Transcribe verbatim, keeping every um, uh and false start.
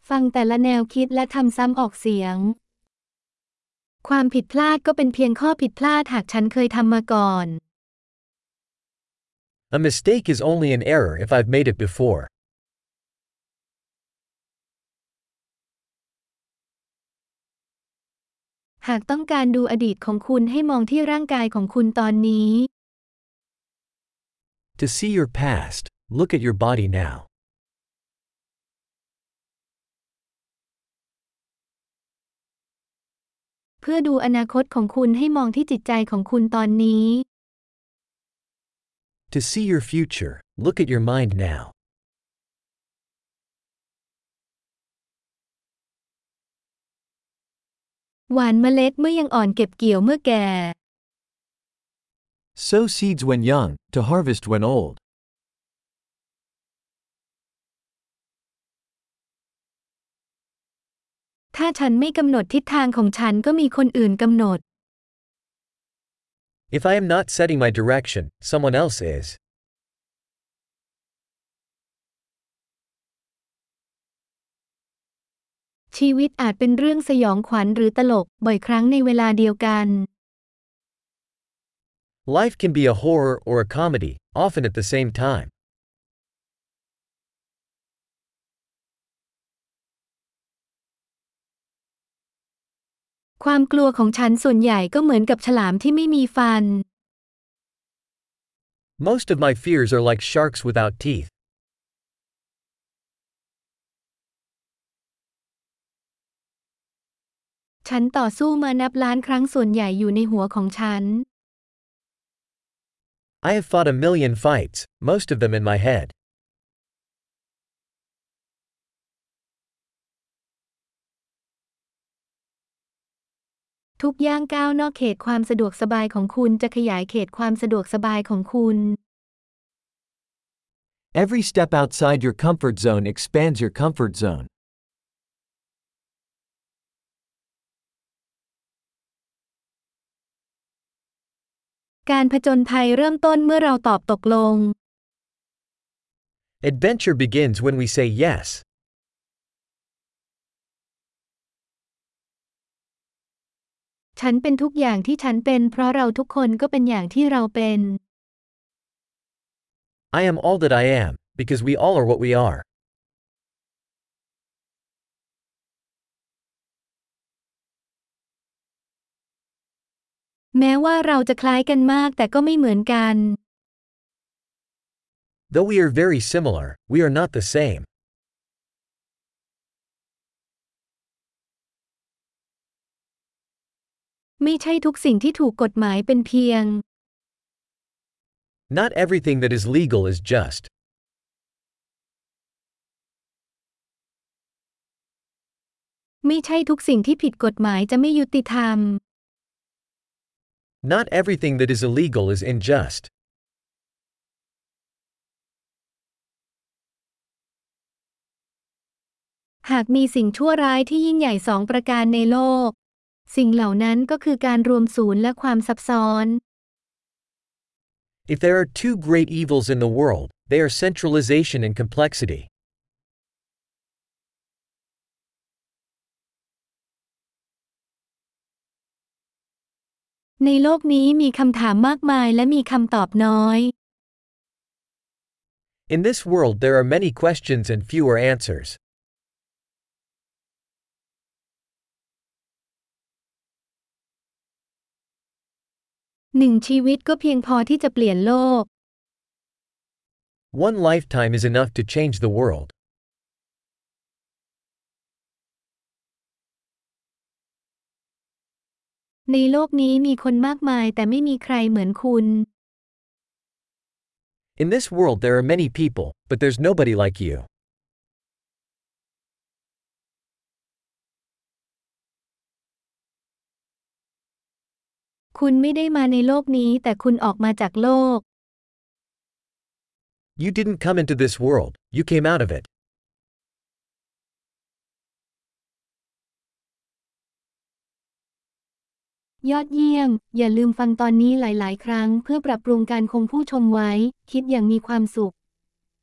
ฟังแต่ละแนวคิดและทำซ้ำออกเสียงความผิดพลาดก็เป็นเพียงข้อผิดพลาดหากฉันเคยทำมาก่อน A mistake is only an error if I've made it before. หากต้องการดูอดีตของคุณให้มองที่ร่างกายของคุณตอนนี้ To see your past, look at your body now. เพื่อดูอนาคตของคุณให้มองที่จิตใจของคุณตอนนี้ To see your future, look at your mind now. หว่านเมล็ดเมื่อยังอ่อนเก็บเกี่ยวเมื่อแก่ Sow seeds when young, to harvest when old. ถ้าฉันไม่กำหนดทิศทางของฉันก็มีคนอื่นกำหนด If I am not setting my direction, someone else is. ชีวิตอาจเป็นเรื่องสยองขวัญหรือตลกบ่อยครั้งในเวลาเดียวกัน Life can be a horror or a comedy, often at the same time. ความกลัวของฉันส่วนใหญ่ก็เหมือนกับฉลามที่ไม่มีฟัน Most of my fears are like sharks without teeth. ฉันต่อสู้มานับล้านครั้งส่วนใหญ่อยู่ในหัวของฉัน I have fought a million fights, most of them in my head. ทุกย่างก้าวนอกเขตความสะดวกสบายของคุณจะขยายเขตความสะดวกสบายของคุณ Every step outside your comfort zone expands your comfort zone. การผจญภัยเริ่มต้นเมื่อเราตอบตกลง Adventure begins when we say yes. ฉันเป็นทุกอย่างที่ฉันเป็นเพราะเราทุกคนก็เป็นอย่างที่เราเป็น I am all that I am, because we all are what we are. แม้ว่าเราจะคล้ายกันมากแต่ก็ไม่เหมือนกัน Though we are very similar, we are not the same. ไม่ใช่ทุกสิ่งที่ถูกกฎหมายเป็นเพียง Not everything that is legal is just. ไม่ใช่ทุกสิ่งที่ผิดกฎหมายจะไม่ยุติธรรม Not everything that is illegal is unjust. หากมีสิ่งชั่วร้ายที่ยิ่งใหญ่สองประการในโลก สิ่งเหล่านั้นก็คือการรวมศูนย์และความซับซ้อน If there are two great evils in the world, they are centralization and complexity. ในโลกนี้มีคำถามมากมายและมีคำตอบน้อย In this world there are many questions and fewer answers. หนึ่งชีวิตก็เพียงพอที่จะเปลี่ยนโลก One lifetime is enough to change the world. ในโลกนี้มีคนมากมายแต่ไม่มีใครเหมือนคุณ In this world there are many people, but there's nobody like you. คุณไม่ได้มาในโลกนี้แต่คุณออกมาจากโลก You didn't come into this world, you came out of it. ยอดเยี่ยม อย่าลืมฟังตอนนี้หลาย ๆ ครั้งเพื่อปรับปรุงการคงผู้ชมไว้ คิดอย่างมีความสุข